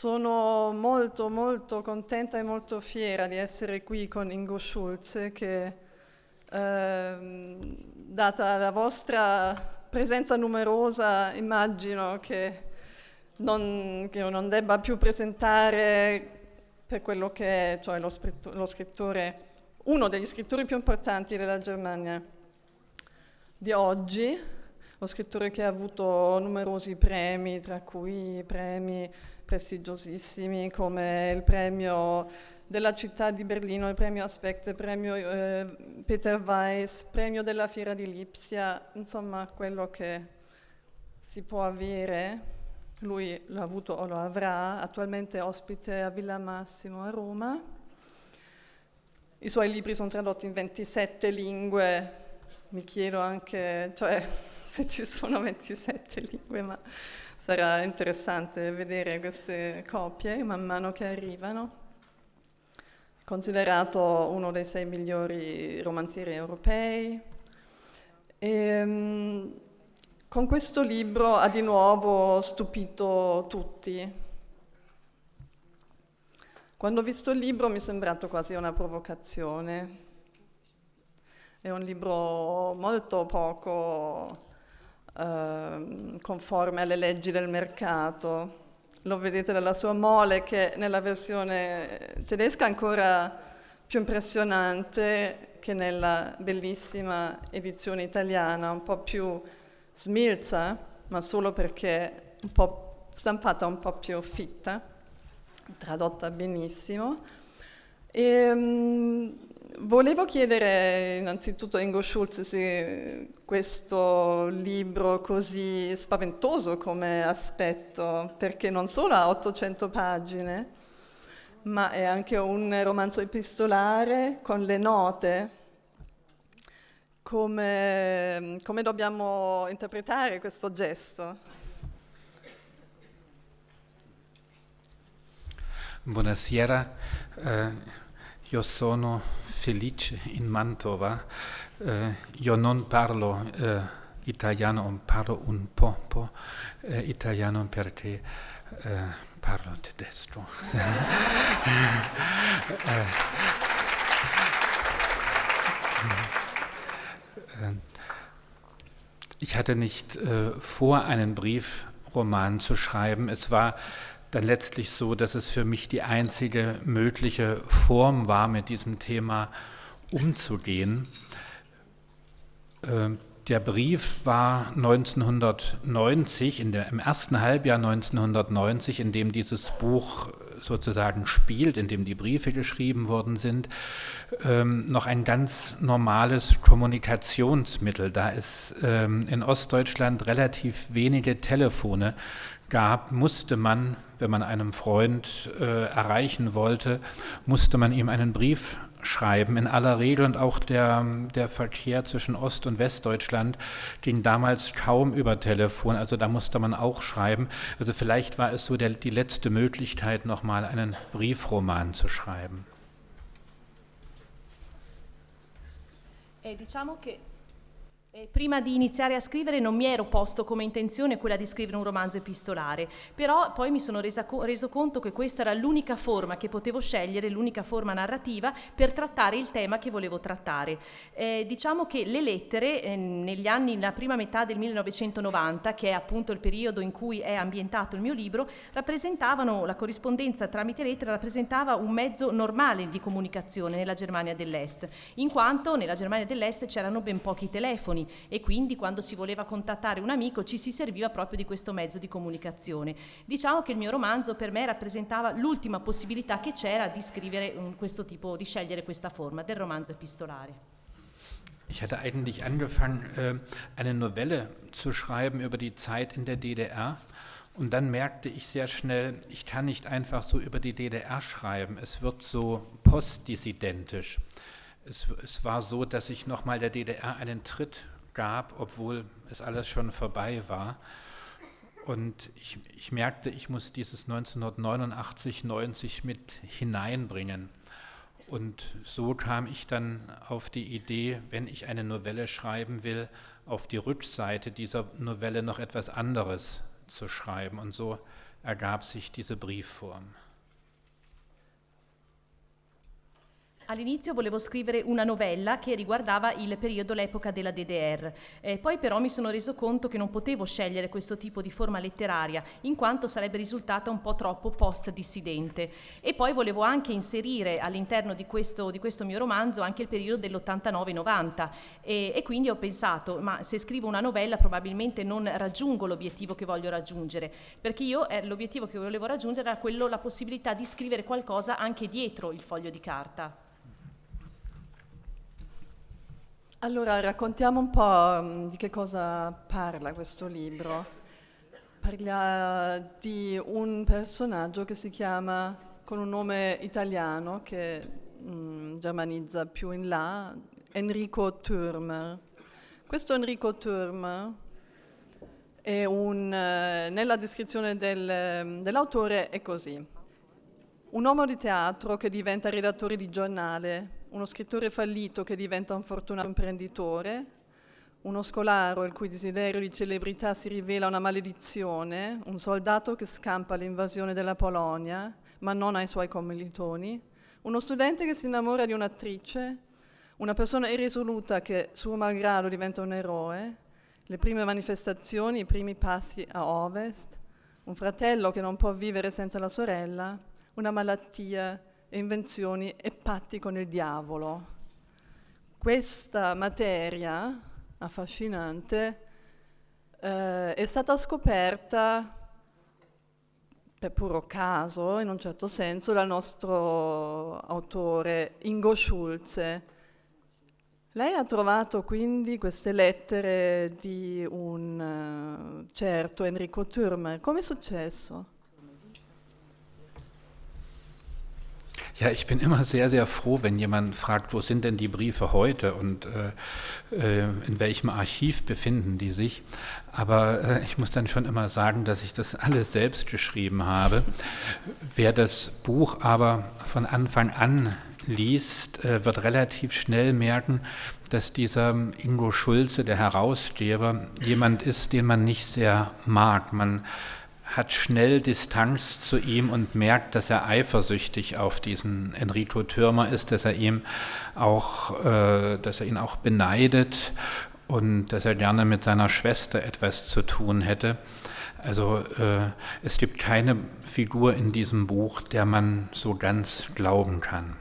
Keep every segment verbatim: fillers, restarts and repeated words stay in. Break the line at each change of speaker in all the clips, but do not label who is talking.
Sono molto molto contenta e molto fiera di essere qui con Ingo Schulze che, ehm, data la vostra presenza numerosa, immagino che non, che io non debba più presentare per quello che è, cioè lo, lo scrittore, uno degli scrittori più importanti della Germania di oggi, lo scrittore che ha avuto numerosi premi, tra cui premi prestigiosissimi come il premio della città di Berlino, il premio Aspect, il premio eh, Peter Weiss, premio della Fiera di Lipsia, insomma quello che si può avere, lui l'ha avuto o lo avrà, attualmente ospite a Villa Massimo a Roma. I suoi libri sono tradotti in ventisette lingue, mi chiedo anche, cioè, se ci sono ventisette lingue, ma sarà interessante vedere queste copie man mano che arrivano. Considerato uno dei sei migliori romanzieri europei. E, um, con questo libro ha di nuovo stupito tutti. Quando ho visto il libro mi è sembrato quasi una provocazione. È un libro molto poco eh, conforme alle leggi del mercato. Lo vedete dalla sua mole, che nella versione tedesca è ancora più impressionante che nella bellissima edizione italiana, un po' più smilza, ma solo perché un po' stampata un po' più fitta, tradotta benissimo. E, um, volevo chiedere innanzitutto a Ingo Schulze se questo libro così spaventoso come aspetto, perché non solo ha ottocento pagine, ma è anche un romanzo epistolare con le note, come, come dobbiamo interpretare questo gesto?
Buonasera, eh, io sono felice in Mantova, eh, io non parlo eh, italiano, parlo un po', po' eh, italiano perché eh, parlo tedesco. eh, äh, ich hatte nicht äh, vor, einen Briefroman zu schreiben. Es war dann letztlich so, dass es für mich die einzige mögliche Form war, mit diesem Thema umzugehen. Äh, der Brief war neunzehnhundertneunzig, in der, im ersten Halbjahr neunzehnhundertneunzig, in dem dieses Buch sozusagen spielt, in dem die Briefe geschrieben worden sind, ähm, noch ein ganz normales Kommunikationsmittel, da es ähm, in Ostdeutschland relativ wenige Telefone gab, musste man, wenn man einen Freund äh, erreichen wollte, musste man ihm einen Brief schreiben. In aller Regel, und auch der, der Verkehr zwischen Ost- und Westdeutschland ging damals kaum über Telefon, also da musste man auch schreiben. Also vielleicht war es so der, die letzte Möglichkeit, nochmal einen Briefroman zu schreiben.
Eh, diciamo che Eh, prima di iniziare a scrivere non mi ero posto come intenzione quella di scrivere un romanzo epistolare, però poi mi sono resa co- reso conto che questa era l'unica forma che potevo scegliere, l'unica forma narrativa per trattare il tema che volevo trattare. Eh, diciamo che le lettere eh, negli anni, nella prima metà del millenovecentonovanta, che è appunto il periodo in cui è ambientato il mio libro, rappresentavano, la corrispondenza tramite lettere rappresentava un mezzo normale di comunicazione nella Germania dell'Est, in quanto nella Germania dell'Est c'erano ben pochi telefoni, e quindi quando si voleva contattare un amico ci si serviva proprio di questo mezzo di comunicazione. Diciamo che il mio romanzo per me rappresentava l'ultima possibilità che c'era di scrivere um, questo tipo, di scegliere questa forma del romanzo epistolare.
Ich hatte eigentlich angefangen, äh, eine Novelle zu schreiben über die Zeit in der D D R. Und dann merkte ich sehr schnell, ich kann nicht einfach so über die D D R schreiben. Es wird so postdissidentisch. Es, es war so, dass ich nochmal der D D R einen Tritt gab, obwohl es alles schon vorbei war. Und ich, ich merkte, ich muss dieses neunzehnhundertneunundachtzig, neunzig mit hineinbringen. Und so kam ich dann auf die Idee, wenn ich eine Novelle schreiben will, auf die Rückseite dieser Novelle noch etwas anderes zu schreiben. Und so ergab sich diese Briefform.
All'inizio volevo scrivere una novella che riguardava il periodo, l'epoca della D D R, eh, poi però mi sono reso conto che non potevo scegliere questo tipo di forma letteraria, in quanto sarebbe risultata un po' troppo post-dissidente. E poi volevo anche inserire all'interno di questo, di questo mio romanzo anche il periodo dell'ottantanove novanta, e, e quindi ho pensato, ma se scrivo una novella probabilmente non raggiungo l'obiettivo che voglio raggiungere, perché io eh, l'obiettivo che volevo raggiungere era quello, la possibilità di scrivere qualcosa anche dietro il foglio di carta.
Allora, raccontiamo un po' um, di che cosa parla questo libro. Parla di un personaggio che si chiama, con un nome italiano che um, germanizza più in là, Enrico Thürmer. Questo Enrico Thürmer è un, uh, nella descrizione del, dell'autore è così. Un uomo di teatro che diventa redattore di giornale, uno scrittore fallito che diventa un fortunato imprenditore, uno scolaro il cui desiderio di celebrità si rivela una maledizione, un soldato che scampa l'invasione della Polonia, ma non ai suoi commilitoni, uno studente che si innamora di un'attrice, una persona irresoluta che suo malgrado diventa un eroe, le prime manifestazioni, i primi passi a ovest, un fratello che non può vivere senza la sorella, una malattia, invenzioni e patti con il diavolo. Questa materia affascinante eh, è stata scoperta per puro caso, in un certo senso, dal nostro autore Ingo Schulze. Lei ha trovato quindi queste lettere di un uh, certo Enrico Thürmer. Come è successo?
Ja, ich bin immer sehr, sehr froh, wenn jemand fragt, wo sind denn die Briefe heute und äh, in welchem Archiv befinden die sich. Aber äh, ich muss dann schon immer sagen, dass ich das alles selbst geschrieben habe. Wer das Buch aber von Anfang an liest, äh, wird relativ schnell merken, dass dieser Ingo Schulze, der Herausgeber, jemand ist, den man nicht sehr mag. Man hat schnell Distanz zu ihm und merkt, dass er eifersüchtig auf diesen Enrico Thürmer ist, dass er ihm auch, äh, dass er ihn auch beneidet und dass er gerne mit seiner Schwester etwas zu tun hätte. Also äh, es gibt keine Figur in diesem Buch, der man so ganz glauben kann.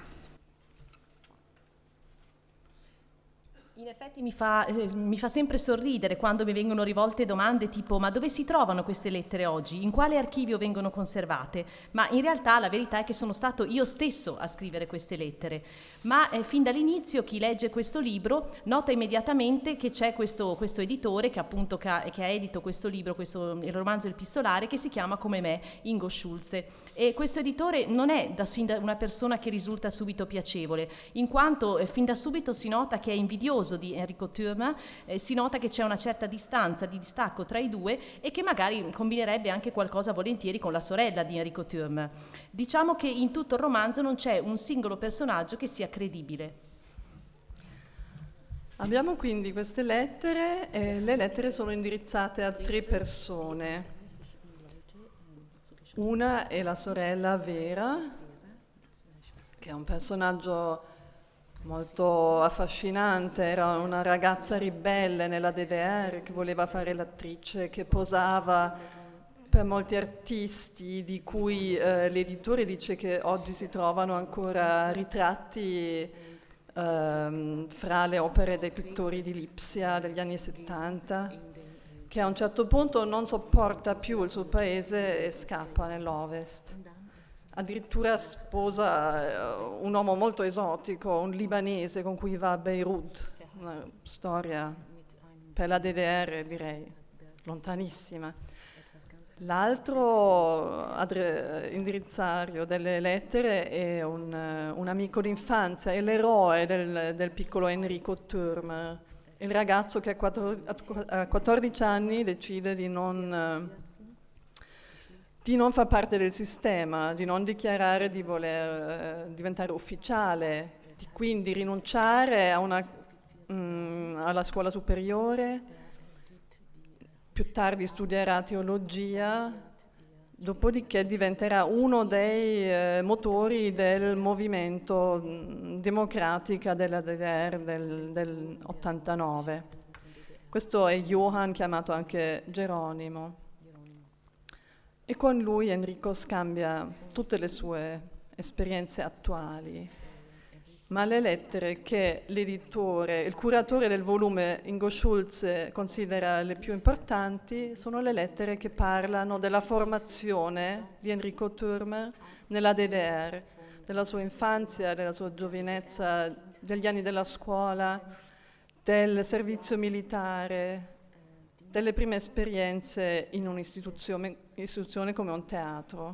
In effetti mi fa, eh, mi fa sempre sorridere quando mi vengono rivolte domande tipo ma dove si trovano queste lettere oggi? In quale archivio vengono conservate? Ma in realtà la verità è che sono stato io stesso a scrivere queste lettere. Ma eh, fin dall'inizio chi legge questo libro nota immediatamente che c'è questo, questo editore che appunto che ha, che ha edito questo libro, questo, il romanzo Epistolare, che si chiama come me Ingo Schulze. E questo editore non è da, fin da una persona che risulta subito piacevole, in quanto eh, fin da subito si nota che è invidioso di Enrico Thürmer, eh, si nota che c'è una certa distanza, di distacco tra i due e che magari combinerebbe anche qualcosa volentieri con la sorella di Enrico Thürmer. Diciamo che in tutto il romanzo non c'è un singolo personaggio che sia credibile.
Abbiamo quindi queste lettere e le lettere sono indirizzate a tre persone. Una è la sorella Vera, che è un personaggio molto affascinante, era una ragazza ribelle nella D D R che voleva fare l'attrice, che posava per molti artisti di cui eh, l'editore dice che oggi si trovano ancora ritratti ehm, fra le opere dei pittori di Lipsia degli anni settanta, che a un certo punto non sopporta più il suo paese e scappa nell'Ovest. Addirittura sposa uh, un uomo molto esotico, un libanese con cui va a Beirut, una storia per la D D R direi lontanissima. L'altro adre- indirizzario delle lettere è un, uh, un amico d'infanzia, è l'eroe del, del piccolo Enrico Thürmer, il ragazzo che a quattordici anni decide di non... Uh, di non far parte del sistema, di non dichiarare di voler eh, diventare ufficiale, di quindi rinunciare a una, mh, alla scuola superiore, più tardi studierà teologia, dopodiché diventerà uno dei eh, motori del movimento mh, democratica della D D R del, del ottantanove. Questo è Johann, chiamato anche Geronimo. E con lui Enrico scambia tutte le sue esperienze attuali, ma le lettere che l'editore, il curatore del volume Ingo Schulze considera le più importanti sono le lettere che parlano della formazione di Enrico Thürmer nella D D R, della sua infanzia, della sua giovinezza, degli anni della scuola, del servizio militare, delle prime esperienze in un'istituzione istituzione come un teatro.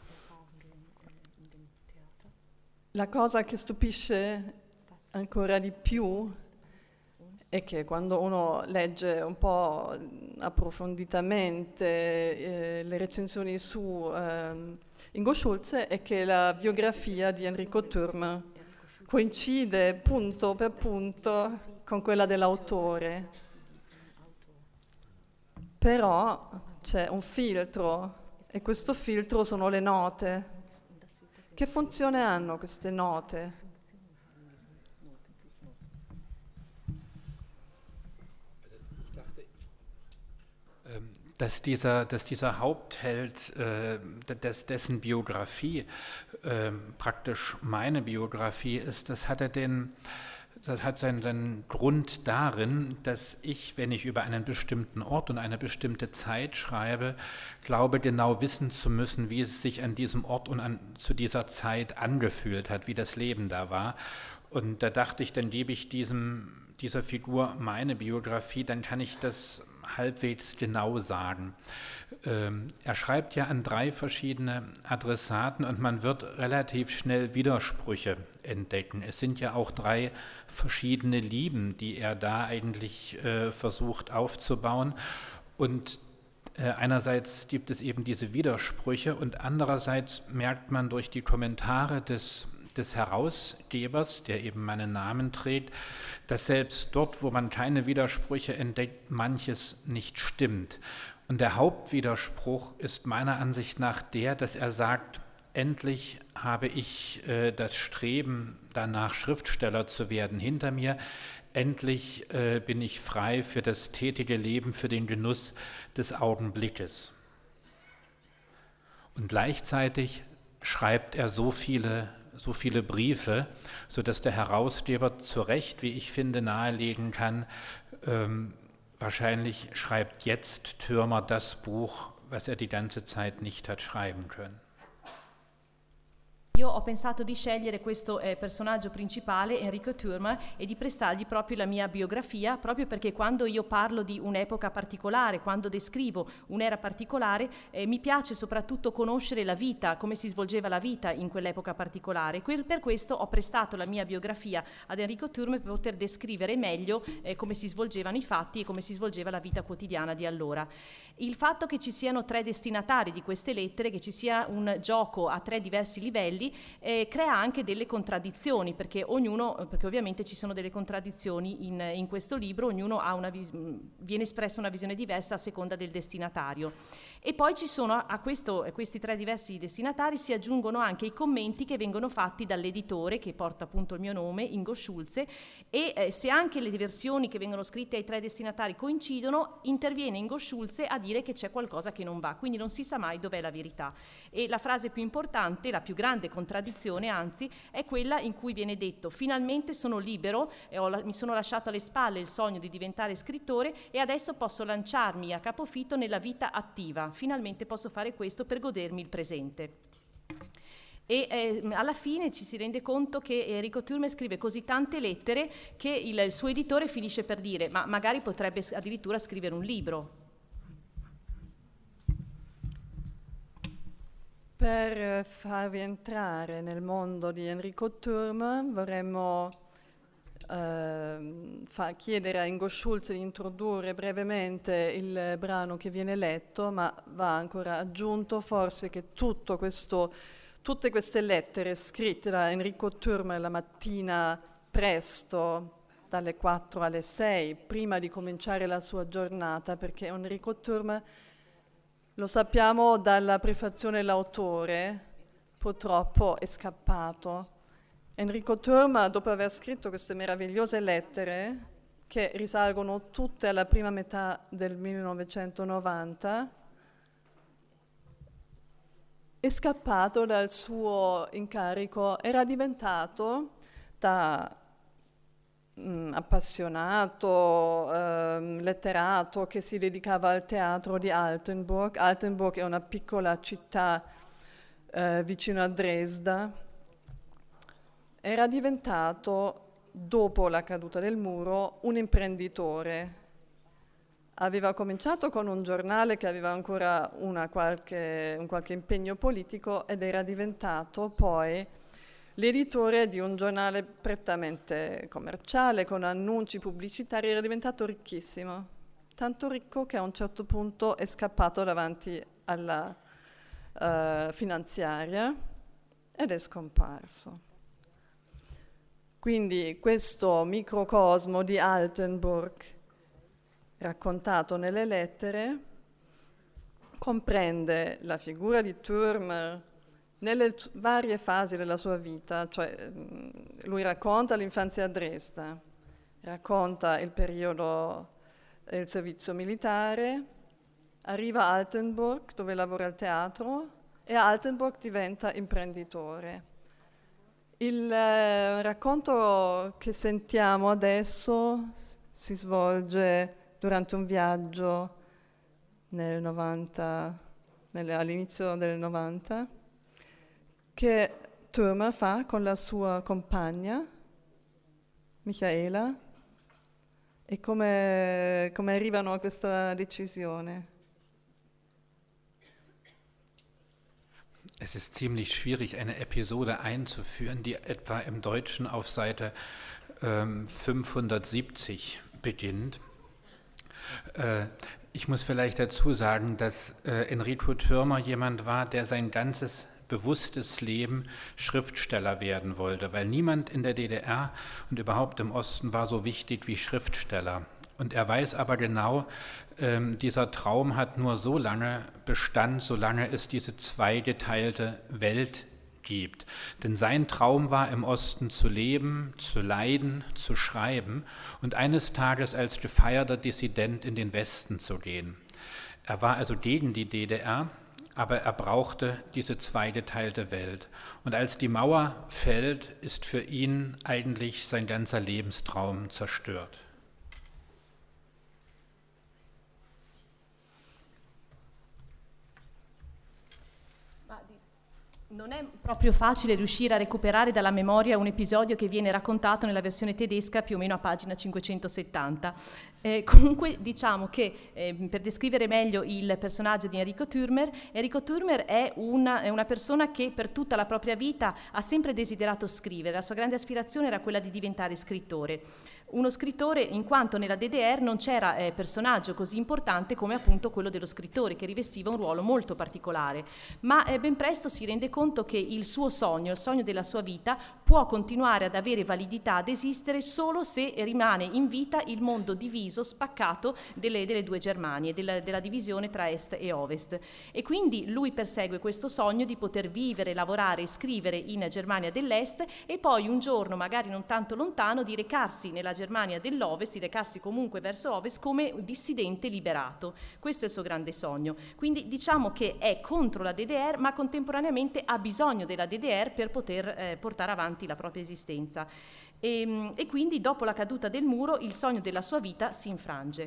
La cosa che stupisce ancora di più è che quando uno legge un po' approfonditamente eh, le recensioni su eh, Ingo Schulze è che la biografia di Enrico Thürmer coincide punto per punto con quella dell'autore. Però c'è un filtro e questo filtro sono le note. Che funzione hanno queste note?
Dass dieser, dass dieser Hauptheld, äh, des, dessen Biografie äh, praktisch meine Biografie ist, das hat er den Das hat seinen, seinen Grund darin, dass ich, wenn ich über einen bestimmten Ort und eine bestimmte Zeit schreibe, glaube, genau wissen zu müssen, wie es sich an diesem Ort und an, zu dieser Zeit angefühlt hat, wie das Leben da war. Und da dachte ich, dann gebe ich diesem, dieser Figur meine Biografie, dann kann ich das halbwegs genau sagen. Ähm, er schreibt ja an drei verschiedene Adressaten und man wird relativ schnell Widersprüche entdecken. Es sind ja auch drei verschiedene Lieben, die er da eigentlich äh, versucht aufzubauen. Und äh, einerseits gibt es eben diese Widersprüche und andererseits merkt man durch die Kommentare des des Herausgebers, der eben meinen Namen trägt, dass selbst dort, wo man keine Widersprüche entdeckt, manches nicht stimmt. Und der Hauptwiderspruch ist meiner Ansicht nach der, dass er sagt, endlich habe ich äh, das Streben danach, Schriftsteller zu werden, hinter mir. Endlich äh, bin ich frei für das tätige Leben, für den Genuss des Augenblickes. Und gleichzeitig schreibt er so viele so viele Briefe, sodass der Herausgeber zu Recht, wie ich finde, nahelegen kann, ähm, wahrscheinlich schreibt jetzt Thürmer das Buch, was er die ganze Zeit nicht hat schreiben können.
Io ho pensato di scegliere questo eh, personaggio principale, Enrico Thürmer, e di prestargli proprio la mia biografia, proprio perché quando io parlo di un'epoca particolare, quando descrivo un'era particolare, eh, mi piace soprattutto conoscere la vita, come si svolgeva la vita in quell'epoca particolare. Que- per questo ho prestato la mia biografia ad Enrico Thürmer per poter descrivere meglio eh, come si svolgevano i fatti e come si svolgeva la vita quotidiana di allora. Il fatto che ci siano tre destinatari di queste lettere, che ci sia un gioco a tre diversi livelli, Eh, crea anche delle contraddizioni, perché ognuno, perché ovviamente ci sono delle contraddizioni in, in questo libro, ognuno ha una vis- viene espressa una visione diversa a seconda del destinatario. E poi ci sono a questo, a questi tre diversi destinatari si aggiungono anche i commenti che vengono fatti dall'editore, che porta appunto il mio nome, Ingo Schulze, e eh, se anche le versioni che vengono scritte ai tre destinatari coincidono, interviene Ingo Schulze a dire che c'è qualcosa che non va, quindi non si sa mai dov'è la verità. E la frase più importante, la più grande contraddizione anzi, è quella in cui viene detto: finalmente sono libero, e ho la- mi sono lasciato alle spalle il sogno di diventare scrittore e adesso posso lanciarmi a capofitto nella vita attiva, finalmente posso fare questo per godermi il presente. E eh, alla fine ci si rende conto che Enrico Thürmer scrive così tante lettere che il, il suo editore finisce per dire: ma magari potrebbe addirittura scrivere un libro.
Per farvi entrare nel mondo di Enrico Thürmer vorremmo eh, fa, chiedere a Ingo Schulze di introdurre brevemente il brano che viene letto, ma va ancora aggiunto forse che tutto questo, tutte queste lettere scritte da Enrico Thürmer la mattina presto, dalle quattro alle sei, prima di cominciare la sua giornata, perché Enrico Thürmer Lo sappiamo dalla prefazione l'autore, purtroppo è scappato. Enrico Thürmer, dopo aver scritto queste meravigliose lettere, che risalgono tutte alla prima metà del millenovecentonovanta, è scappato dal suo incarico, era diventato da mh, appassionato, eh, letterato che si dedicava al teatro di Altenburg. Altenburg è una piccola città eh, vicino a Dresda. Era diventato, dopo la caduta del muro, un imprenditore. Aveva cominciato con un giornale che aveva ancora una qualche, un qualche impegno politico ed era diventato poi l'editore di un giornale prettamente commerciale, con annunci pubblicitari. Era diventato ricchissimo, tanto ricco che a un certo punto è scappato davanti alla uh, finanziaria ed è scomparso. Quindi questo microcosmo di Altenburg, raccontato nelle lettere, comprende la figura di Thürmer nelle varie fasi della sua vita, cioè lui racconta l'infanzia a Dresda, racconta il periodo del servizio militare, arriva a Altenburg dove lavora al teatro e a Altenburg diventa imprenditore. Il eh, racconto che sentiamo adesso si svolge durante un viaggio nel novanta, nel, all'inizio del novanta, che Thürmer fa con la sua compagna, Michaela, e come, come arrivano a questa decisione.
Es ist ziemlich schwierig, eine Episode einzuführen, die etwa im Deutschen auf Seite ähm, fünfhundertsiebzig beginnt. Äh, ich muss vielleicht dazu sagen, dass äh, Enrico Thürmer jemand war, der sein ganzes bewusstes Leben Schriftsteller werden wollte, weil niemand in der D D R und überhaupt im Osten war so wichtig wie Schriftsteller. Und er weiß aber genau, ähm, dieser Traum hat nur so lange Bestand, solange es diese zweigeteilte Welt gibt. Denn sein Traum war, im Osten zu leben, zu leiden, zu schreiben und eines Tages als gefeierter Dissident in den Westen zu gehen. Er war also gegen die D D R, aber er brauchte diese zweigeteilte Welt. Und als die Mauer fällt, ist für ihn eigentlich sein ganzer Lebenstraum zerstört.
Non è proprio facile riuscire a recuperare dalla memoria un episodio che viene raccontato nella versione tedesca più o meno a pagina cinquecentosettanta. Eh, comunque diciamo che eh, per descrivere meglio il personaggio di Enrico Thürmer, Enrico Thürmer è una, è una persona che per tutta la propria vita ha sempre desiderato scrivere. La sua grande aspirazione era quella di diventare scrittore. Uno scrittore in quanto nella D D R non c'era eh, personaggio così importante come appunto quello dello scrittore, che rivestiva un ruolo molto particolare, ma eh, ben presto si rende conto che il suo sogno, il sogno della sua vita, può continuare ad avere validità, ad esistere solo se rimane in vita il mondo diviso, spaccato delle, delle due Germanie, della, della divisione tra Est e Ovest. E quindi lui persegue questo sogno di poter vivere, lavorare e scrivere in Germania dell'Est e poi un giorno, magari non tanto lontano, di recarsi nella Germania dell'Ovest, di recarsi comunque verso Ovest come dissidente liberato. Questo è il suo grande sogno. Quindi diciamo che è contro la D D R, ma contemporaneamente ha bisogno della D D R per poter eh, portare avanti la propria esistenza. E, e quindi dopo la caduta del muro il sogno della sua vita si infrange.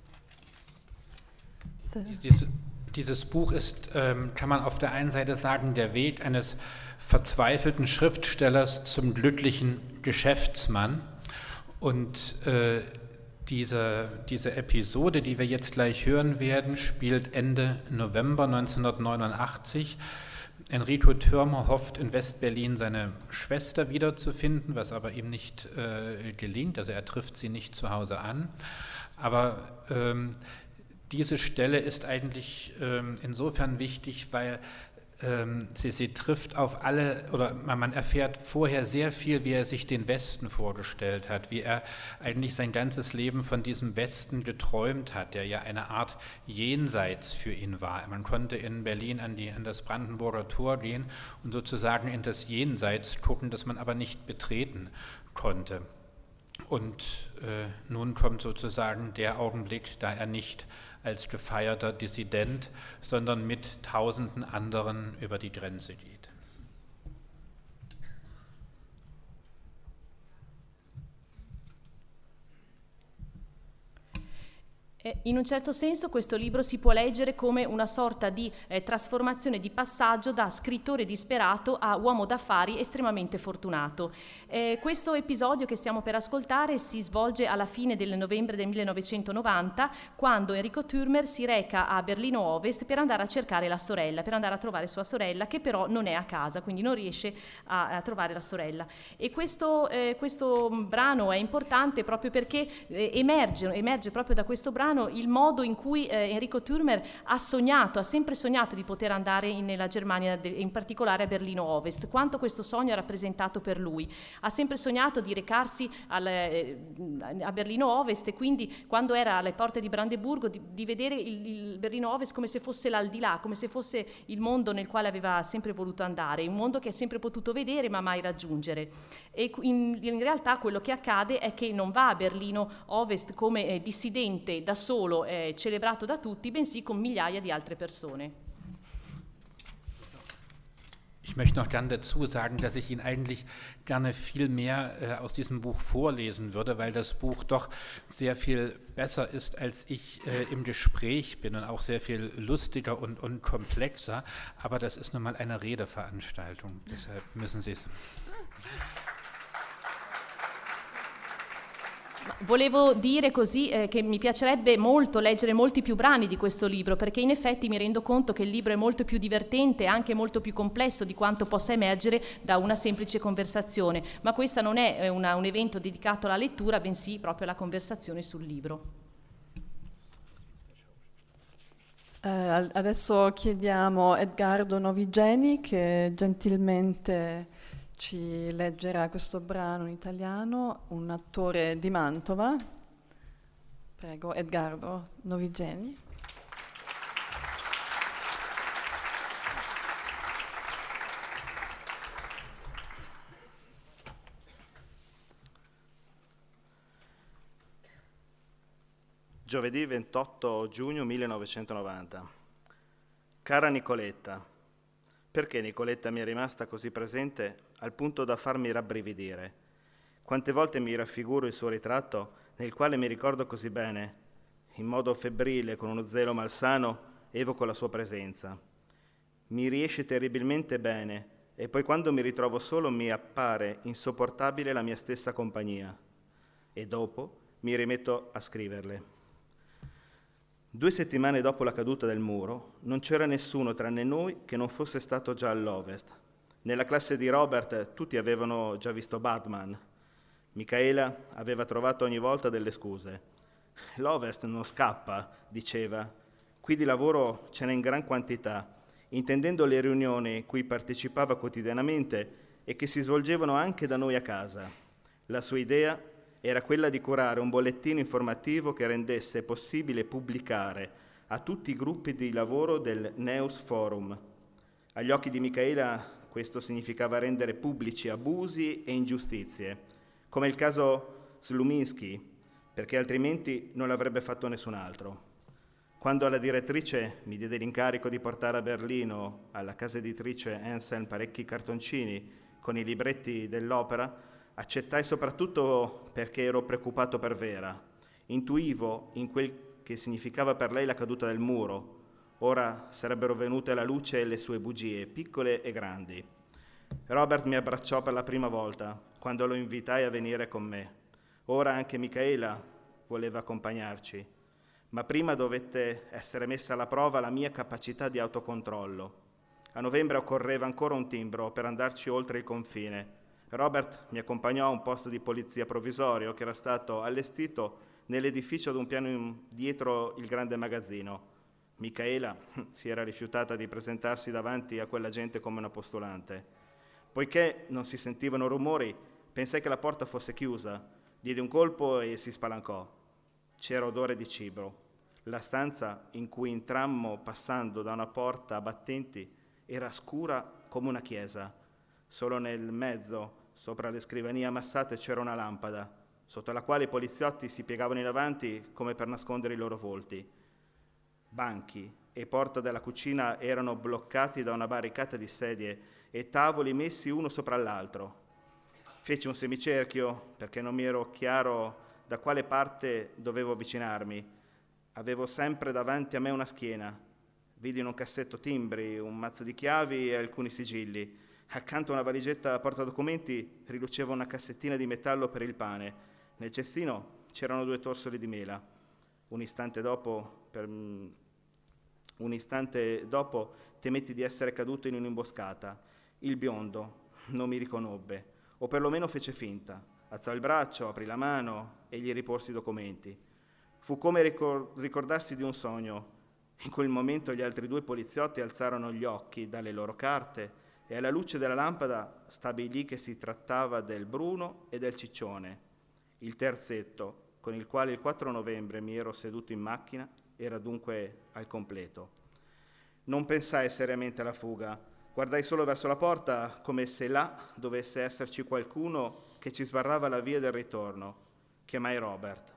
Dieses, dieses Buch ist, ähm, kann man auf der einen Seite sagen, der Weg eines verzweifelten Schriftstellers zum glücklichen Geschäftsmann. Und äh, diese, diese Episode, die wir jetzt gleich hören werden, spielt Ende November neunzehnhundertneunundachtzig. Enrico Thürmer hofft, in Westberlin seine Schwester wiederzufinden, was aber ihm nicht äh, gelingt. Also er trifft sie nicht zu Hause an. Aber ähm, diese Stelle ist eigentlich ähm, insofern wichtig, weil ähm, sie, sie trifft auf alle, oder man erfährt vorher sehr viel, wie er sich den Westen vorgestellt hat, wie er eigentlich sein ganzes Leben von diesem Westen geträumt hat, der ja eine Art Jenseits für ihn war. Man konnte in Berlin an, die, an das Brandenburger Tor gehen und sozusagen in das Jenseits gucken, das man aber nicht betreten konnte. Und äh, nun kommt sozusagen der Augenblick, da er nicht als gefeierter Dissident, sondern mit tausenden anderen über die Grenze geht.
In un certo senso questo libro si può leggere come una sorta di eh, trasformazione, di passaggio da scrittore disperato a uomo d'affari estremamente fortunato. Eh, questo episodio che stiamo per ascoltare si svolge alla fine del novembre del millenovecentonovanta, quando Enrico Thürmer si reca a Berlino Ovest per andare a cercare la sorella, per andare a trovare sua sorella, che però non è a casa, quindi non riesce a, a trovare la sorella. E questo, eh, questo brano è importante proprio perché eh, emerge, emerge proprio da questo brano il modo in cui eh, Enrico Thürmer ha sognato, ha sempre sognato di poter andare in, nella Germania, de, in particolare a Berlino Ovest, quanto questo sogno ha rappresentato per lui. Ha sempre sognato di recarsi al, eh, a Berlino Ovest e quindi quando era alle porte di Brandeburgo di, di vedere il, il Berlino Ovest come se fosse l'aldilà, come se fosse il mondo nel quale aveva sempre voluto andare, un mondo che ha sempre potuto vedere ma mai raggiungere. E in, in realtà quello che accade è che non va a Berlino Ovest come eh, dissidente da solo eh, celebrato da tutti, bensì con migliaia di altre persone.
Ich möchte noch gern dazu sagen, dass ich Ihnen eigentlich gerne viel mehr äh, aus diesem Buch vorlesen würde, weil das Buch doch sehr viel besser ist, als ich äh, im Gespräch bin und auch sehr viel lustiger und, und komplexer. Aber das ist nun mal eine Redeveranstaltung, deshalb müssen Sie es.
Volevo dire così eh, che mi piacerebbe molto leggere molti più brani di questo libro, perché in effetti mi rendo conto che il libro è molto più divertente e anche molto più complesso di quanto possa emergere da una semplice conversazione, ma questo non è una, un evento dedicato alla lettura, bensì proprio alla conversazione sul libro.
Eh, adesso chiediamo a Edgardo Novigeni che gentilmente ci leggerà questo brano in italiano, un attore di Mantova. Prego, Edgardo Novigeni.
Giovedì ventotto giugno millenovecentonovanta. Cara Nicoletta, perché Nicoletta mi è rimasta così presente al punto da farmi rabbrividire? Quante volte mi raffiguro il suo ritratto nel quale mi ricordo così bene, in modo febbrile, con uno zelo malsano, evoco la sua presenza. Mi riesce terribilmente bene e poi quando mi ritrovo solo mi appare insopportabile la mia stessa compagnia. E dopo mi rimetto a scriverle. Due settimane dopo la caduta del muro, non c'era nessuno tranne noi che non fosse stato già all'Ovest. Nella classe di Robert tutti avevano già visto Batman. Michaela aveva trovato ogni volta delle scuse. L'Ovest non scappa, diceva. Qui di lavoro ce n'è in gran quantità, intendendo le riunioni cui partecipava quotidianamente e che si svolgevano anche da noi a casa. La sua idea era quella di curare un bollettino informativo che rendesse possibile pubblicare a tutti i gruppi di lavoro del Neus Forum. Agli occhi di Michaela questo significava rendere pubblici abusi e ingiustizie, come il caso Sluminski, perché altrimenti non l'avrebbe fatto nessun altro. Quando la direttrice mi diede l'incarico di portare a Berlino, alla casa editrice Anselm, parecchi cartoncini con i libretti dell'opera, accettai soprattutto perché ero preoccupato per Vera. Intuivo in quel che significava per lei la caduta del muro. Ora sarebbero venute alla luce le sue bugie, piccole e grandi. Robert mi abbracciò per la prima volta, quando lo invitai a venire con me. Ora anche Michaela voleva accompagnarci, ma prima dovette essere messa alla prova la mia capacità di autocontrollo. A novembre occorreva ancora un timbro per andarci oltre il confine. Robert mi accompagnò a un posto di polizia provvisorio che era stato allestito nell'edificio ad un piano in, dietro il grande magazzino. Micaela si era rifiutata di presentarsi davanti a quella gente come una postulante. Poiché non si sentivano rumori, pensai che la porta fosse chiusa, diedi un colpo e si spalancò. C'era odore di cibo. La stanza in cui entrammo passando da una porta a battenti era scura come una chiesa. Solo nel mezzo, sopra le scrivanie ammassate, c'era una lampada, sotto la quale i poliziotti si piegavano in avanti come per nascondere i loro volti. Banchi e porta della cucina erano bloccati da una barricata di sedie e tavoli messi uno sopra l'altro. Feci un semicerchio perché non mi ero chiaro da quale parte dovevo avvicinarmi. Avevo sempre davanti a me una schiena. Vidi in un cassetto timbri, un mazzo di chiavi e alcuni sigilli. Accanto a una valigetta portadocumenti riluceva una cassettina di metallo per il pane. Nel cestino c'erano due torsoli di mela. Un istante dopo, per... un istante dopo temetti di essere caduto in un'imboscata. Il biondo non mi riconobbe, o perlomeno fece finta. Alzò il braccio, aprì la mano e gli riporsi i documenti. Fu come ricor- ricordarsi di un sogno. In quel momento gli altri due poliziotti alzarono gli occhi dalle loro carte e alla luce della lampada stabilì che si trattava del Bruno e del Ciccione. Il terzetto, con il quale il quattro novembre mi ero seduto in macchina, era dunque al completo. Non pensai seriamente alla fuga. Guardai solo verso la porta come se là dovesse esserci qualcuno che ci sbarrava la via del ritorno. Chiamai Robert.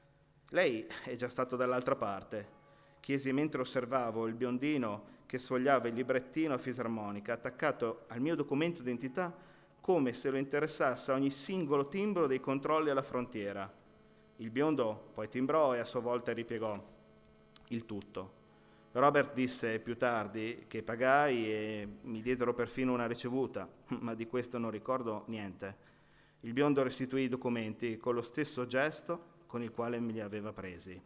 Lei è già stato dall'altra parte, chiesi mentre osservavo il biondino che sfogliava il librettino a fisarmonica attaccato al mio documento d'identità come se lo interessasse ogni singolo timbro dei controlli alla frontiera. Il biondo poi timbrò e a sua volta ripiegò il tutto. Robert disse più tardi che pagai e mi diedero perfino una ricevuta, ma di questo non ricordo niente. Il biondo restituì i documenti con lo stesso gesto con il quale me li aveva presi.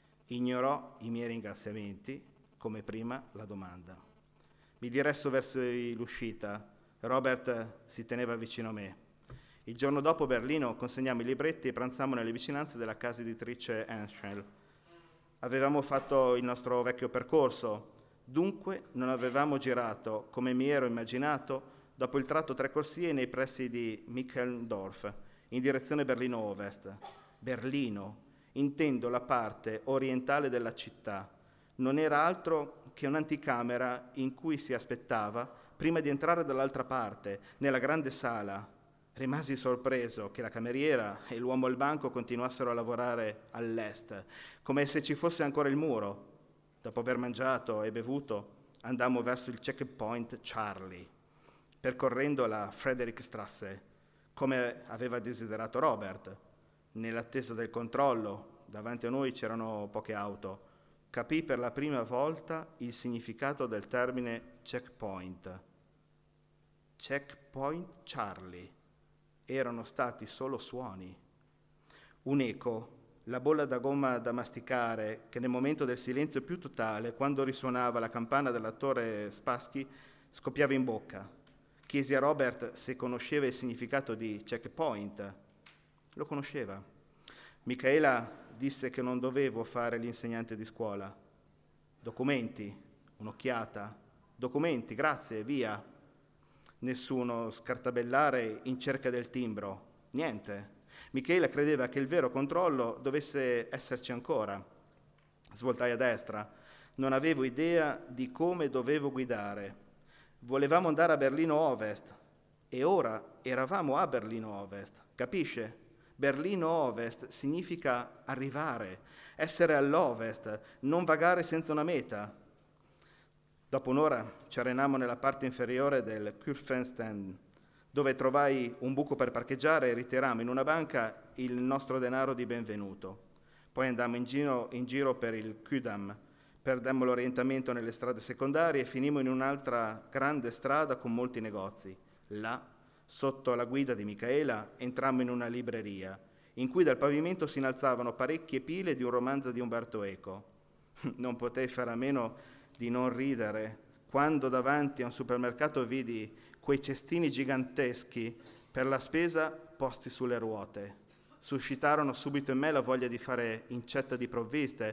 Ignorò i miei ringraziamenti, come prima la domanda. Mi diresso verso l'uscita. Robert si teneva vicino a me. Il giorno dopo a Berlino consegnammo i libretti e pranzammo nelle vicinanze della casa editrice Henschel. Avevamo fatto il nostro vecchio percorso, dunque non avevamo girato, come mi ero immaginato, dopo il tratto tre corsie nei pressi di Micheldorf, in direzione Berlino Ovest. Berlino, intendo la parte orientale della città, non era altro che un'anticamera in cui si aspettava prima di entrare dall'altra parte, nella grande sala. Rimasi sorpreso che la cameriera e l'uomo al banco continuassero a lavorare all'est, come se ci fosse ancora il muro. Dopo aver mangiato e bevuto, andammo verso il checkpoint Charlie, percorrendo la Friedrichstrasse, come aveva desiderato Robert. Nell'attesa del controllo, davanti a noi c'erano poche auto. Capì per la prima volta il significato del termine checkpoint. Checkpoint Charlie. Erano stati solo suoni. Un eco, la bolla da gomma da masticare, che nel momento del silenzio più totale, quando risuonava la campana dell'attore Spassky, scoppiava in bocca. Chiesi a Robert se conosceva il significato di checkpoint. Lo conosceva. Micaela disse che non dovevo fare l'insegnante di scuola. Documenti, un'occhiata. Documenti, grazie, via. Nessuno scartabellare in cerca del timbro. Niente. Micaela credeva che il vero controllo dovesse esserci ancora. Svoltai a destra. Non avevo idea di come dovevo guidare. Volevamo andare a Berlino Ovest e ora eravamo a Berlino Ovest. Capisce? Berlino Ovest significa arrivare, essere all'ovest, non vagare senza una meta. Dopo un'ora ci arenammo nella parte inferiore del Kurfürstendamm, dove trovai un buco per parcheggiare e ritirammo in una banca il nostro denaro di benvenuto. Poi andammo in giro, in giro per il Kudamm, perdemmo l'orientamento nelle strade secondarie e finimmo in un'altra grande strada con molti negozi. Là, sotto la guida di Micaela, entrammo in una libreria, in cui dal pavimento si innalzavano parecchie pile di un romanzo di Umberto Eco. Non potei fare a meno di non ridere quando davanti a un supermercato vidi quei cestini giganteschi per la spesa posti sulle ruote. Suscitarono subito in me la voglia di fare incetta di provviste,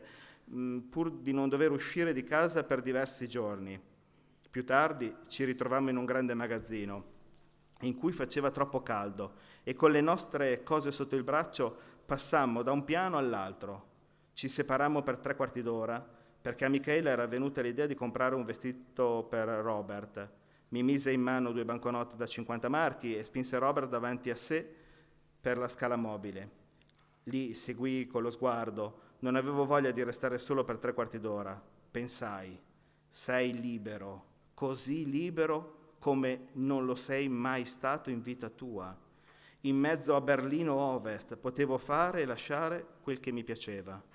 mh, pur di non dover uscire di casa per diversi giorni. Più tardi ci ritrovammo in un grande magazzino in cui faceva troppo caldo e con le nostre cose sotto il braccio passammo da un piano all'altro. Ci separammo per tre quarti d'ora perché a Michaela era venuta l'idea di comprare un vestito per Robert. Mi mise in mano due banconote da cinquanta marchi e spinse Robert davanti a sé per la scala mobile. Lì seguii con lo sguardo. Non avevo voglia di restare solo per tre quarti d'ora. Pensai, sei libero, così libero come non lo sei mai stato in vita tua. In mezzo a Berlino Ovest potevo fare e lasciare quel che mi piaceva.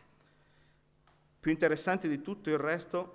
Più interessante di tutto il resto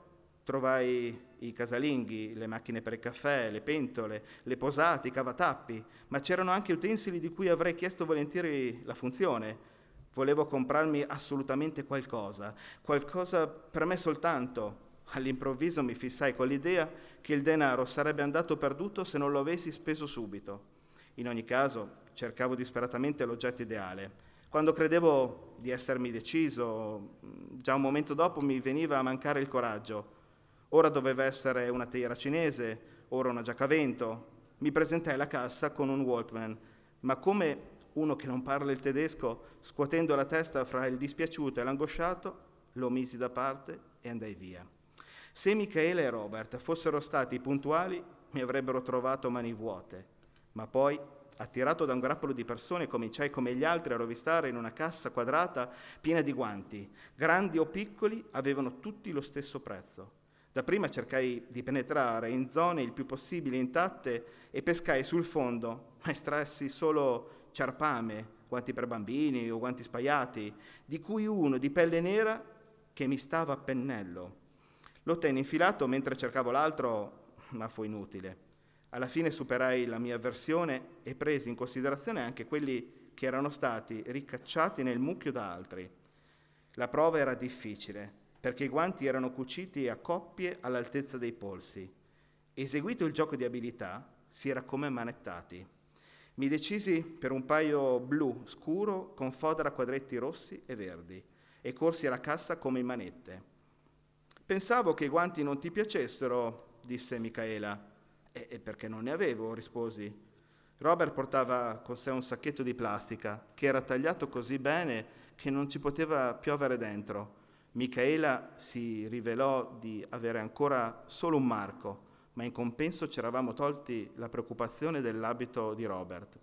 trovai i casalinghi, le macchine per il caffè, le pentole, le posate, i cavatappi, ma c'erano anche utensili di cui avrei chiesto volentieri la funzione. Volevo comprarmi assolutamente qualcosa, qualcosa per me soltanto. All'improvviso mi fissai con l'idea che il denaro sarebbe andato perduto se non lo avessi speso subito. In ogni caso, cercavo disperatamente l'oggetto ideale. Quando credevo di essermi deciso, già un momento dopo mi veniva a mancare il coraggio. Ora doveva essere una teiera cinese, ora una giacca a vento. Mi presentai alla cassa con un Walkman, ma come uno che non parla il tedesco, scuotendo la testa fra il dispiaciuto e l'angosciato, lo misi da parte e andai via. Se Michaela e Robert fossero stati puntuali, mi avrebbero trovato mani vuote, ma poi, attirato da un grappolo di persone, cominciai come gli altri a rovistare in una cassa quadrata piena di guanti. Grandi o piccoli, avevano tutti lo stesso prezzo. Dapprima cercai di penetrare in zone il più possibile intatte e pescai sul fondo, ma estrassi solo ciarpame, guanti per bambini o guanti spaiati, di cui uno di pelle nera che mi stava a pennello. Lo tenni infilato mentre cercavo l'altro, ma fu inutile. Alla fine superai la mia avversione e presi in considerazione anche quelli che erano stati ricacciati nel mucchio da altri. La prova era difficile, perché i guanti erano cuciti a coppie all'altezza dei polsi. Eseguito il gioco di abilità, si era come manettati. Mi decisi per un paio blu scuro con fodera a quadretti rossi e verdi e corsi alla cassa come in manette. Pensavo che i guanti non ti piacessero, disse Michaela. E, e perché non ne avevo, risposi. Robert portava con sé un sacchetto di plastica che era tagliato così bene che non ci poteva piovere dentro. Michaela si rivelò di avere ancora solo un marco, ma in compenso ci eravamo tolti la preoccupazione dell'abito di Robert.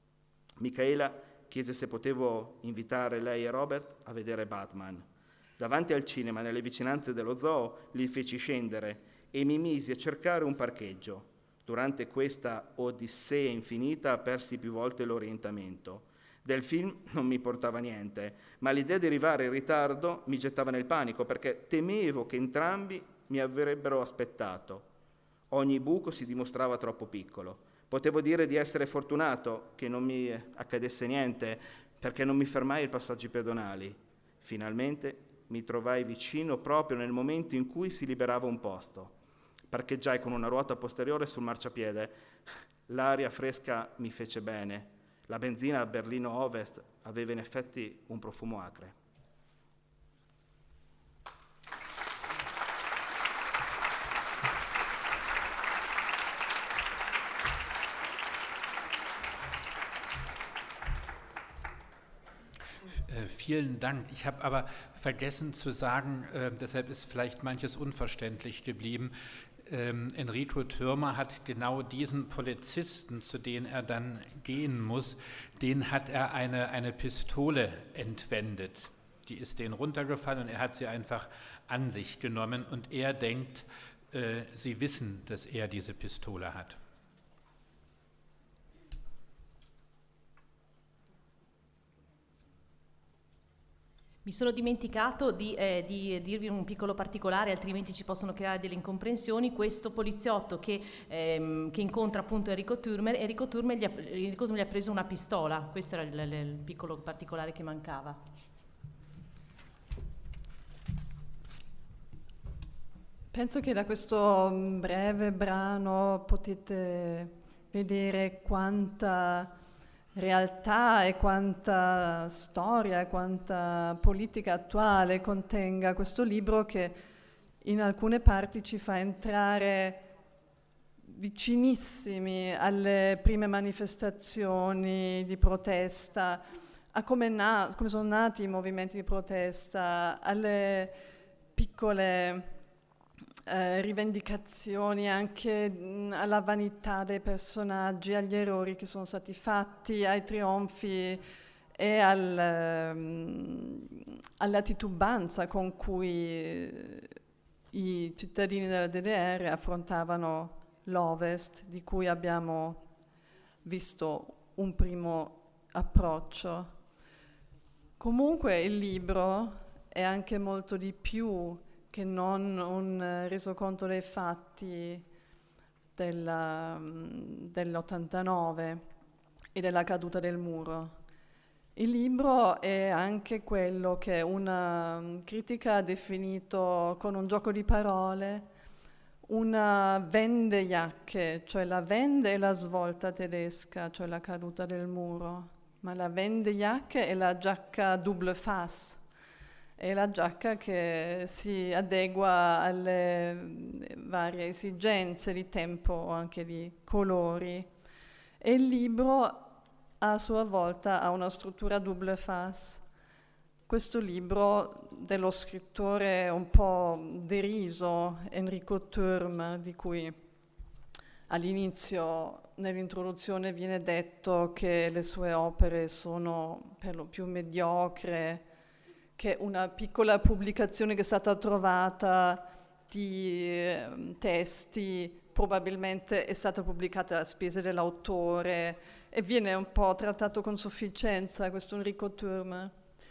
Michaela chiese se potevo invitare lei e Robert a vedere Batman. Davanti al cinema, nelle vicinanze dello zoo, li feci scendere e mi misi a cercare un parcheggio. Durante questa odissea infinita persi più volte l'orientamento. Del film non mi portava niente, ma l'idea di arrivare in ritardo mi gettava nel panico perché temevo che entrambi mi avrebbero aspettato. Ogni buco si dimostrava troppo piccolo. Potevo dire di essere fortunato che non mi accadesse niente perché non mi fermai ai passaggi pedonali. Finalmente mi trovai vicino proprio nel momento in cui si liberava un posto. Parcheggiai con una ruota posteriore sul marciapiede. L'aria fresca mi fece bene. La benzina a Berlino Ovest aveva in effetti un profumo acre.
Vielen Dank. Ich habe aber vergessen zu sagen, äh, deshalb ist vielleicht manches unverständlich geblieben. Ähm, Enrico Thürmer hat genau diesen Polizisten, zu dem er dann gehen muss, den hat er eine, eine Pistole entwendet. Die ist denen runtergefallen und er hat sie einfach an sich genommen und er denkt, äh, sie wissen, dass er diese Pistole hat.
Mi sono dimenticato di, eh, di dirvi un piccolo particolare, altrimenti ci possono creare delle incomprensioni. Questo poliziotto che, ehm, che incontra appunto Enrico Thürmer, Enrico Thürmer, gli ha, Enrico Thürmer gli ha preso una pistola. Questo era il, il, il piccolo particolare che mancava.
Penso che da questo breve brano potete vedere quanta realtà e quanta storia e quanta politica attuale contenga questo libro, che in alcune parti ci fa entrare vicinissimi alle prime manifestazioni di protesta, a come, na- come sono nati i movimenti di protesta, alle piccole eh, rivendicazioni, anche mh, alla vanità dei personaggi, agli errori che sono stati fatti, ai trionfi e al, um, alla titubanza con cui i cittadini della D D R affrontavano l'Ovest, di cui abbiamo visto un primo approccio. Comunque il libro è anche molto di più che non un uh, resoconto dei fatti della, um, dell'ottantanove e della caduta del muro. Il libro è anche quello che una um, critica ha definito con un gioco di parole una vendejacche, cioè la vende e la svolta tedesca, cioè la caduta del muro, ma la vendejacche è la giacca double face, è la giacca che si adegua alle varie esigenze di tempo o anche di colori. E il libro a sua volta ha una struttura double face. Questo libro dello scrittore un po' deriso, Enrico Thürm, di cui all'inizio nell'introduzione viene detto che le sue opere sono per lo più mediocre, che una piccola pubblicazione che è stata trovata di eh, testi probabilmente è stata pubblicata a spese dell'autore e viene un po' trattato con sufficienza questo Enrico Thürm.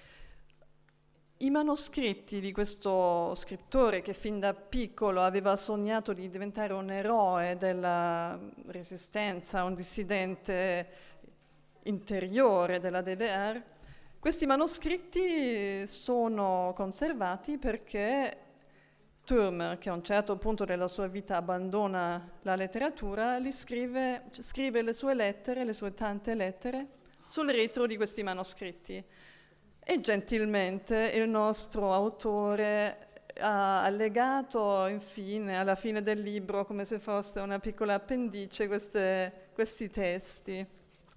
I manoscritti di questo scrittore, che fin da piccolo aveva sognato di diventare un eroe della resistenza, un dissidente interiore della D D R, questi manoscritti sono conservati perché Thürm, che a un certo punto della sua vita abbandona la letteratura, li scrive, scrive le sue lettere, le sue tante lettere, sul retro di questi manoscritti. E gentilmente il nostro autore ha allegato infine, alla fine del libro, come se fosse una piccola appendice, queste, questi testi.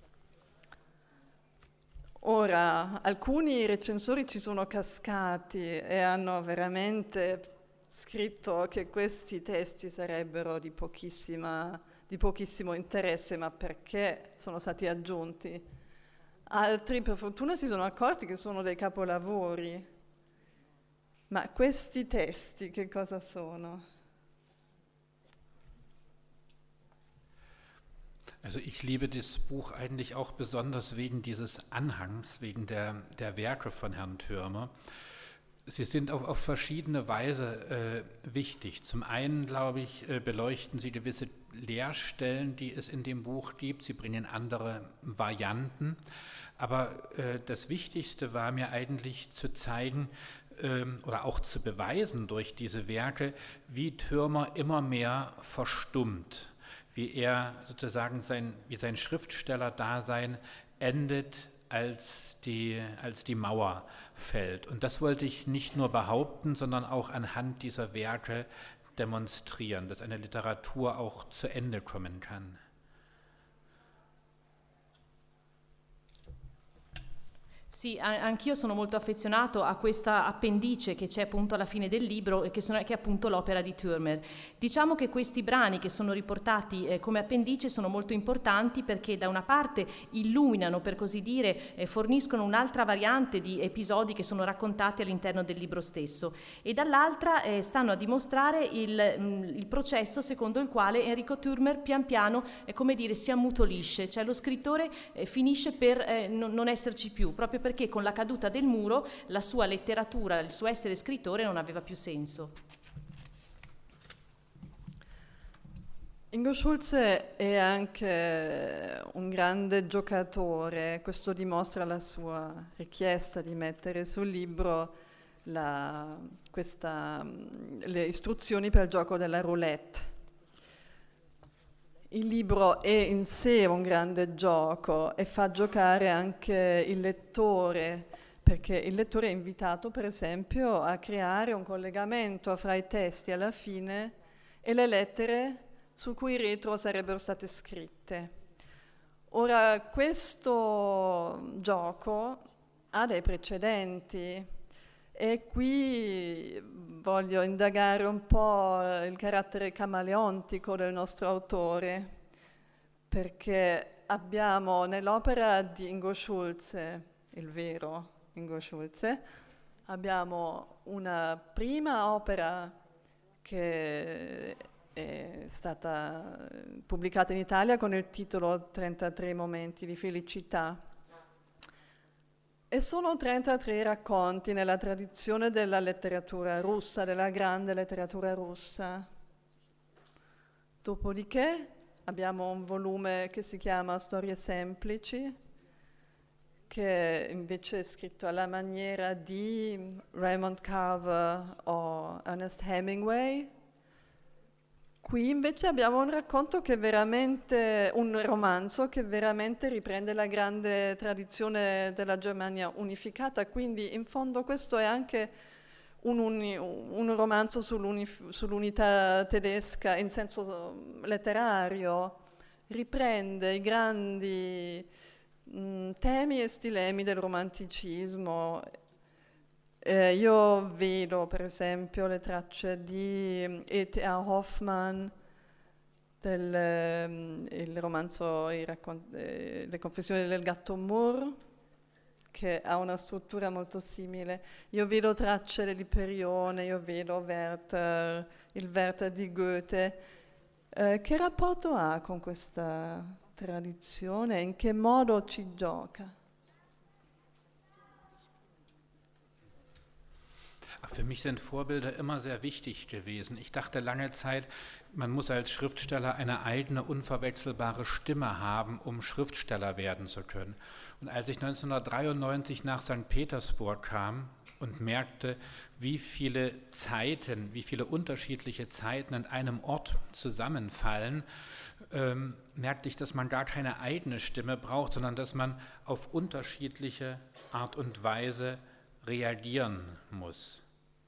Ora, alcuni recensori ci sono cascati e hanno veramente scritto che questi testi sarebbero di, pochissima, di pochissimo interesse, ma perché sono stati aggiunti. Altri, per fortuna, si sono accorti che sono dei capolavori. Ma questi testi che cosa sono?
Also ich liebe das Buch eigentlich auch besonders wegen dieses Anhangs, wegen der, der Werke von Herrn Thürmer. Sie sind auf, auf verschiedene Weise äh, wichtig. Zum einen, glaube ich, äh, beleuchten sie gewisse Leerstellen, die es in dem Buch gibt. Sie bringen andere Varianten. Aber äh, das Wichtigste war mir eigentlich zu zeigen äh, oder auch zu beweisen durch diese Werke, wie Thürmer immer mehr verstummt, wie er sozusagen sein, wie sein Schriftstellerdasein endet, als die, als die Mauer fällt. Und das wollte ich nicht nur behaupten, sondern auch anhand dieser Werke demonstrieren, dass eine Literatur auch zu Ende kommen kann.
Sì, anch'io sono molto affezionato a questa appendice che c'è appunto alla fine del libro e che, sono, che è appunto l'opera di Thürmer. Diciamo che questi brani che sono riportati eh, come appendice sono molto importanti perché da una parte illuminano, per così dire, eh, forniscono un'altra variante di episodi che sono raccontati all'interno del libro stesso e dall'altra eh, stanno a dimostrare il, mh, il processo secondo il quale Enrico Thürmer pian piano, eh, come dire, si ammutolisce, cioè lo scrittore eh, finisce per eh, non, non esserci più, proprio perché con la caduta del muro la sua letteratura, il suo essere scrittore non aveva più senso.
Ingo Schulze è anche un grande giocatore, questo dimostra la sua richiesta di mettere sul libro la, questa, le istruzioni per il gioco della roulette. il libro è in sé un grande gioco e fa giocare anche il lettore, perché il lettore è invitato, per esempio, a creare un collegamento fra i testi alla fine e le lettere su cui in retro sarebbero state scritte. Ora, questo gioco ha dei precedenti e qui voglio indagare un po' il carattere camaleontico del nostro autore, perché abbiamo nell'opera di Ingo Schulze, il vero Ingo Schulze, abbiamo una prima opera che è stata pubblicata in Italia con il titolo trentatré momenti di felicità. E sono trentatré racconti nella tradizione della letteratura russa, della grande letteratura russa. Dopodiché abbiamo un volume che si chiama Storie semplici, che invece è scritto alla maniera di Raymond Carver o Ernest Hemingway. Qui invece abbiamo un racconto che è veramente, un romanzo che veramente riprende la grande tradizione della Germania unificata, quindi in fondo questo è anche un, uni, un romanzo sull'unità tedesca in senso letterario, riprende i grandi mh, temi e stilemi del romanticismo. Eh, io vedo per esempio le tracce di E T A Hoffmann, del um, il romanzo i raccont- eh, Le confessioni del gatto Moore, che ha una struttura molto simile. Io vedo tracce dell'Iperione, io vedo Werther, il Werther di Goethe. Eh, che rapporto ha con questa tradizione? In che modo ci gioca?
Für mich sind Vorbilder immer sehr wichtig gewesen. Ich dachte lange Zeit, man muss als Schriftsteller eine eigene, unverwechselbare Stimme haben, um Schriftsteller werden zu können. Und als ich neunzehnhundertdreiundneunzig nach Sankt Petersburg kam und merkte, wie viele Zeiten, wie viele unterschiedliche Zeiten an einem Ort zusammenfallen, ähm, merkte ich, dass man gar keine eigene Stimme braucht, sondern dass man auf unterschiedliche Art und Weise reagieren muss.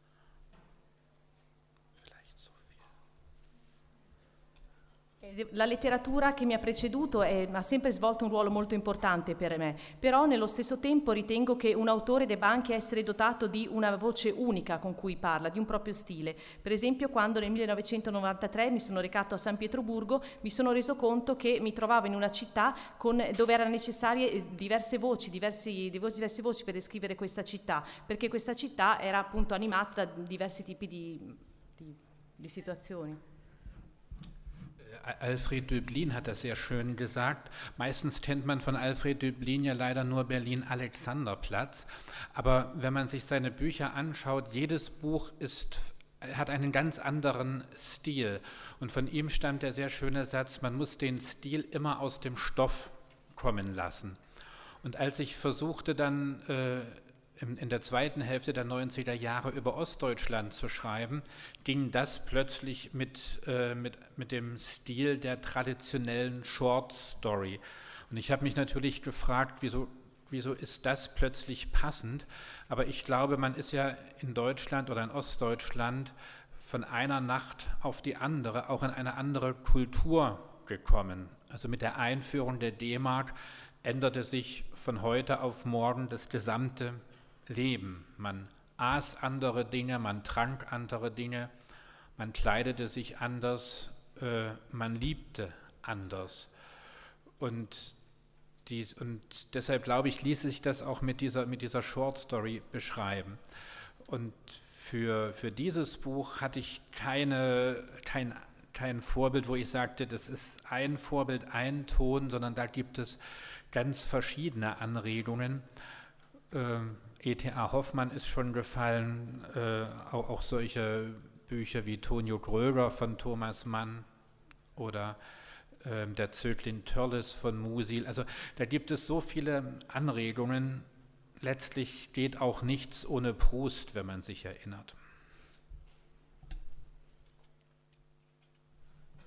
La letteratura che mi ha preceduto è, ha sempre svolto un ruolo molto importante per me, però nello stesso tempo ritengo che un autore debba anche essere dotato di una voce unica con cui parla, di un proprio stile. Per esempio, quando nel millenovecentonovantatré mi sono recato a San Pietroburgo, mi sono reso conto che mi trovavo in una città con, dove erano necessarie diverse voci, diversi, diverse voci per descrivere questa città, perché questa città era appunto animata da diversi tipi di, di, di situazioni.
Alfred Döblin hat das sehr schön gesagt. Meistens kennt man von Alfred Döblin ja leider nur Berlin-Alexanderplatz. Aber wenn man sich seine Bücher anschaut, jedes Buch ist, hat einen ganz anderen Stil. Und von ihm stammt der sehr schöne Satz, man muss den Stil immer aus dem Stoff kommen lassen. Und als ich versuchte dann äh, in, in der zweiten Hälfte der neunziger Jahre über Ostdeutschland zu schreiben, ging das plötzlich mit, äh, mit, mit dem Stil der traditionellen Short Story. Und ich habe mich natürlich gefragt, wieso, wieso ist das plötzlich passend? Aber ich glaube, man ist ja in Deutschland oder in Ostdeutschland von einer Nacht auf die andere auch in eine andere Kultur gekommen. Also mit der Einführung der D-Mark änderte sich von heute auf morgen das gesamte Leben. Man aß andere Dinge, man trank andere Dinge, man kleidete sich anders, äh, man liebte anders. Und, dies, und deshalb glaube ich, ließ sich das auch mit dieser, mit dieser Short Story beschreiben. Und für, für dieses Buch hatte ich keine, kein, kein Vorbild, wo ich sagte, das ist ein Vorbild, ein Ton, sondern da gibt es ganz verschiedene Anregungen. Ähm, E T A Hoffmann ist schon gefallen, äh, auch, auch solche Bücher wie Tonio Gröger von Thomas Mann oder äh, der Zöglin Törles von Musil. Also da gibt es so viele Anregungen. Letztlich geht auch nichts ohne Proust, wenn man sich erinnert.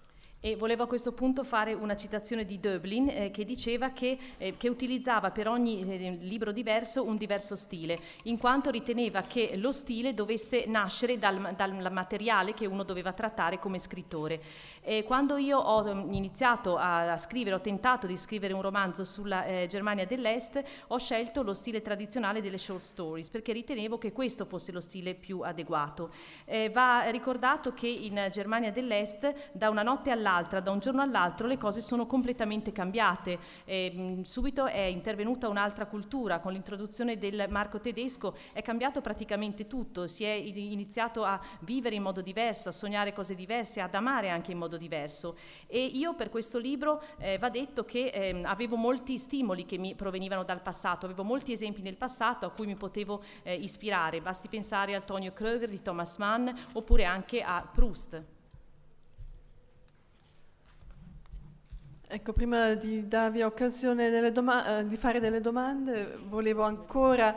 E volevo a questo punto fare una citazione di Döblin eh, che diceva che, eh, che utilizzava per ogni eh, libro diverso un diverso stile, in quanto riteneva che lo stile dovesse nascere dal, dal materiale che uno doveva trattare come scrittore. E quando io ho iniziato a, a scrivere, ho tentato di scrivere un romanzo sulla eh, Germania dell'Est, ho scelto lo stile tradizionale delle short stories, perché ritenevo che questo fosse lo stile più adeguato. Eh, va ricordato che in Germania dell'Est, da una notte all'altra, da un giorno all'altro, le cose sono completamente cambiate. Eh, subito è intervenuta un'altra cultura, con l'introduzione del marco tedesco è cambiato praticamente tutto, si è iniziato a vivere in modo diverso, a sognare cose diverse, ad amare anche in modo diverso. E io per questo libro eh, va detto che eh, avevo molti stimoli che mi provenivano dal passato, avevo molti esempi nel passato a cui mi potevo eh, ispirare, basti pensare a Tonio Kröger di Thomas Mann oppure anche a Proust.
Ecco, prima di darvi occasione delle doma- eh, di fare delle domande, volevo ancora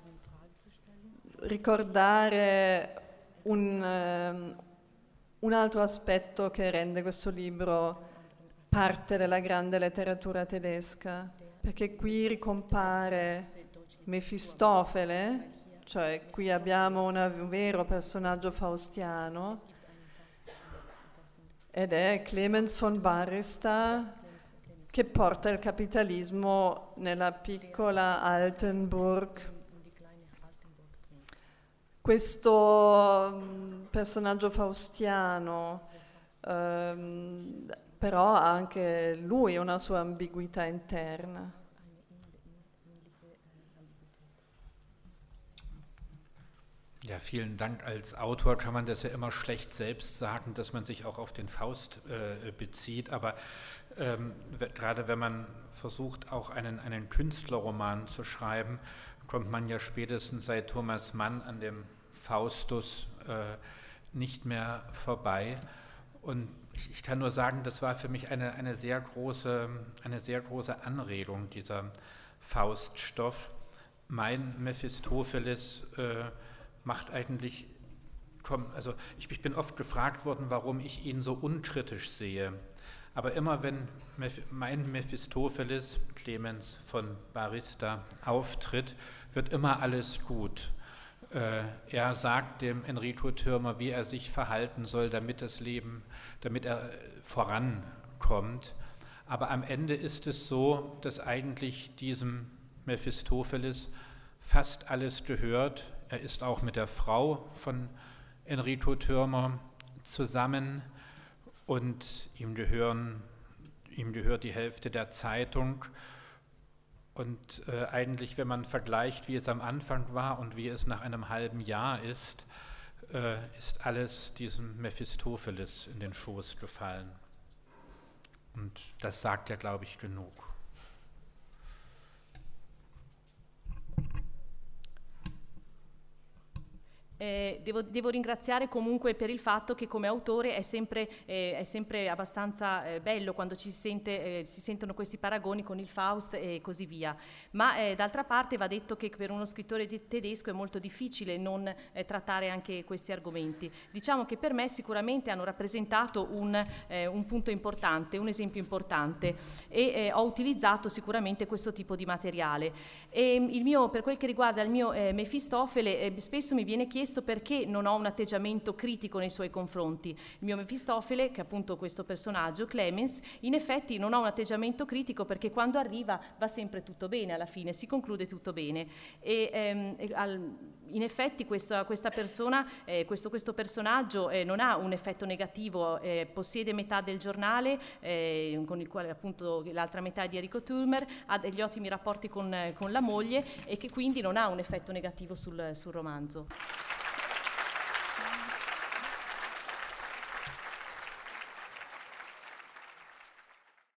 ricordare un, um, un altro aspetto che rende questo libro parte della grande letteratura tedesca, perché qui ricompare Mefistofele, cioè qui abbiamo una, un vero personaggio faustiano, ed è Clemens von Barista, che porta il capitalismo nella piccola Altenburg. Questo um, personaggio faustiano um, però ha anche lui una sua ambiguità interna.
Ja, vielen Dank. Als Autor kann man das ja immer schlecht selbst sagen, dass man sich auch auf den Faust äh, bezieht, aber ähm, gerade wenn man versucht, auch einen, einen Künstlerroman zu schreiben, kommt man ja spätestens seit Thomas Mann an dem Faustus äh, nicht mehr vorbei. Und ich, ich kann nur sagen, das war für mich eine, eine, sehr große, eine sehr große Anregung, dieser Fauststoff. Mein Mephistopheles äh, macht eigentlich, komm, also ich, ich bin oft gefragt worden, warum ich ihn so unkritisch sehe. Aber immer wenn Meph- mein Mephistopheles, Clemens von Barista, auftritt, wird immer alles gut. Äh, er sagt dem Enrico Thürmer, wie er sich verhalten soll, damit das Leben, damit er vorankommt. Aber am Ende ist es so, dass eigentlich diesem Mephistopheles fast alles gehört. Er ist auch mit der Frau von Enrico Thürmer zusammen und ihm, gehören, ihm gehört die Hälfte der Zeitung. Und äh, eigentlich, wenn man vergleicht, wie es am Anfang war und wie es nach einem halben Jahr ist, äh, ist alles diesem Mephistopheles in den Schoß gefallen. Und das sagt ja, glaube ich, genug.
Eh, devo, devo ringraziare comunque per il fatto che come autore è sempre, eh, è sempre abbastanza eh, bello quando ci si, sente, eh, si sentono questi paragoni con il Faust e così via, ma eh, d'altra parte va detto che per uno scrittore di tedesco è molto difficile non eh, trattare anche questi argomenti. Diciamo che per me sicuramente hanno rappresentato un, eh, un punto importante, un esempio importante, e eh, ho utilizzato sicuramente questo tipo di materiale. E il mio, per quel che riguarda il mio eh, Mefistofele, eh, spesso mi viene chiesto perché non ho un atteggiamento critico nei suoi confronti. Il mio Mefistofele, che è appunto questo personaggio, Clemens, in effetti non ha un atteggiamento critico perché quando arriva va sempre tutto bene, alla fine si conclude tutto bene. E, ehm, e al, in effetti questa, questa persona, eh, questo, questo personaggio eh, non ha un effetto negativo, eh, possiede metà del giornale, eh, con il quale appunto l'altra metà è di Enrico Thürmer, ha degli ottimi rapporti con, con la moglie e che quindi non ha un effetto negativo sul, sul romanzo.